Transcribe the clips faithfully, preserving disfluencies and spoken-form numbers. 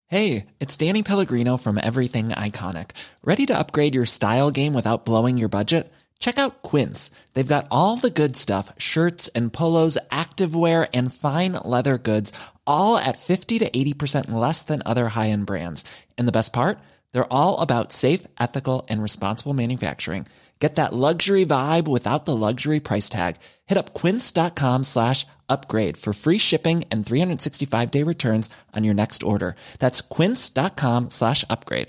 Hey, it's Danny Pellegrino from Everything Iconic. Ready to upgrade your style game without blowing your budget? Check out Quince. They've got all the good stuff, shirts and polos, activewear, and fine leather goods, all at fifty to eighty percent less than other high-end brands. And the best part? They're all about safe, ethical, and responsible manufacturing. Get that luxury vibe without the luxury price tag. Hit up quince.com slash upgrade for free shipping and three sixty-five day returns on your next order. That's quince.com slash upgrade.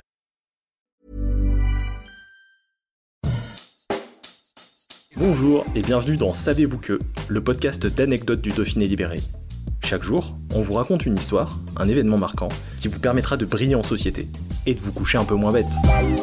Bonjour et bienvenue dans Savez-vous que, le podcast d'anecdotes du Dauphiné libéré. Chaque jour, on vous raconte une histoire, un événement marquant, qui vous permettra de briller en société et de vous coucher un peu moins bête.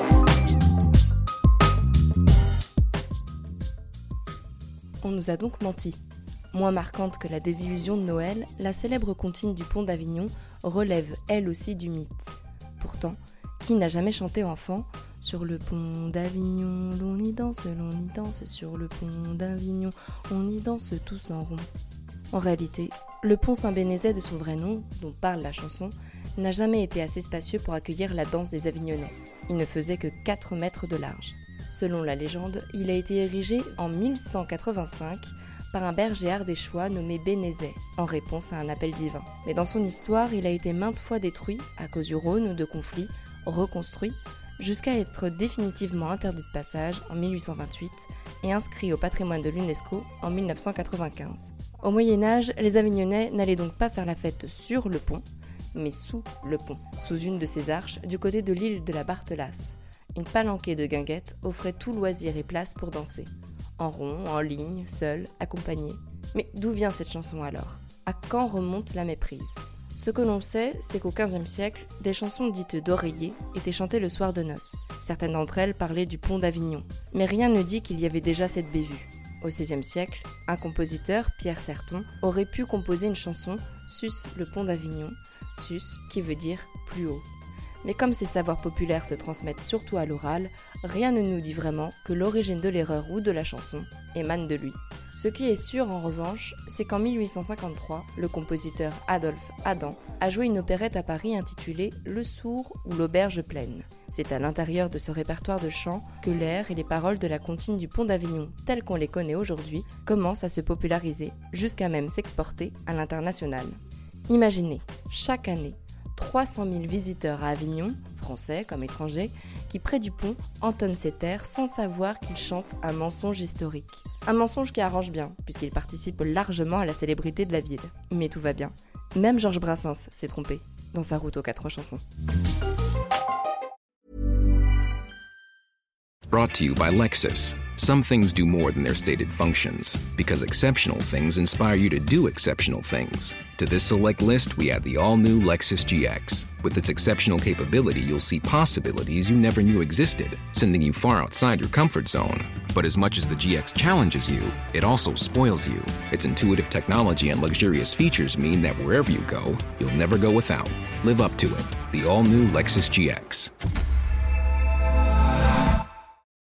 On nous a donc menti. Moins marquante que la désillusion de Noël, la célèbre comptine du Pont d'Avignon relève elle aussi du mythe. Pourtant, qui n'a jamais chanté enfant « Sur le pont d'Avignon, l'on y danse, l'on y danse, sur le pont d'Avignon, on y danse tous en rond ». En réalité, le pont Saint-Bénézet de son vrai nom, dont parle la chanson, n'a jamais été assez spacieux pour accueillir la danse des Avignonnais. Il ne faisait que quatre mètres de large. Selon la légende, il a été érigé en mille cent quatre-vingt-cinq par un berger ardéchois nommé Bénézet, en réponse à un appel divin. Mais dans son histoire, il a été maintes fois détruit, à cause du Rhône ou de conflits, reconstruit, jusqu'à être définitivement interdit de passage en mille huit cent vingt-huit et inscrit au patrimoine de l'UNESCO en mille neuf cent quatre-vingt-quinze. Au Moyen-Âge, les Avignonnais n'allaient donc pas faire la fête sur le pont, mais sous le pont, sous une de ses arches, du côté de l'île de la Barthelasse. Une palanquée de guinguettes offrait tout loisir et place pour danser. En rond, en ligne, seul, accompagné. Mais d'où vient cette chanson alors ? À quand remonte la méprise ? Ce que l'on sait, c'est qu'au quinzième siècle, des chansons dites d'oreiller étaient chantées le soir de noces. Certaines d'entre elles parlaient du pont d'Avignon. Mais rien ne dit qu'il y avait déjà cette bévue. Au seizième siècle, un compositeur, Pierre Certon, aurait pu composer une chanson « Sus le pont d'Avignon », « sus » qui veut dire « plus haut ». Mais comme ces savoirs populaires se transmettent surtout à l'oral, rien ne nous dit vraiment que l'origine de l'erreur ou de la chanson émane de lui. Ce qui est sûr en revanche, c'est qu'en mille huit cent cinquante-trois, le compositeur Adolphe Adam a joué une opérette à Paris intitulée « Le sourd ou l'auberge pleine ». C'est à l'intérieur de ce répertoire de chants que l'air et les paroles de la comptine du Pont d'Avignon, telles qu'on les connaît aujourd'hui, commencent à se populariser, jusqu'à même s'exporter à l'international. Imaginez, chaque année, trois cent mille visiteurs à Avignon, français comme étrangers, qui près du pont entonnent cet air sans savoir qu'ils chantent un mensonge historique. Un mensonge qui arrange bien, puisqu'il participe largement à la célébrité de la ville. Mais tout va bien. Même Georges Brassens s'est trompé dans sa route aux quatre chansons. Brought to you by Lexus. Some things do more than their stated functions, because exceptional things inspire you to do exceptional things. To this select list, we add the all-new Lexus G X. With its exceptional capability, you'll see possibilities you never knew existed, sending you far outside your comfort zone. But as much as the G X challenges you, it also spoils you. Its intuitive technology and luxurious features mean that wherever you go, you'll never go without. Live up to it. The all-new Lexus G X.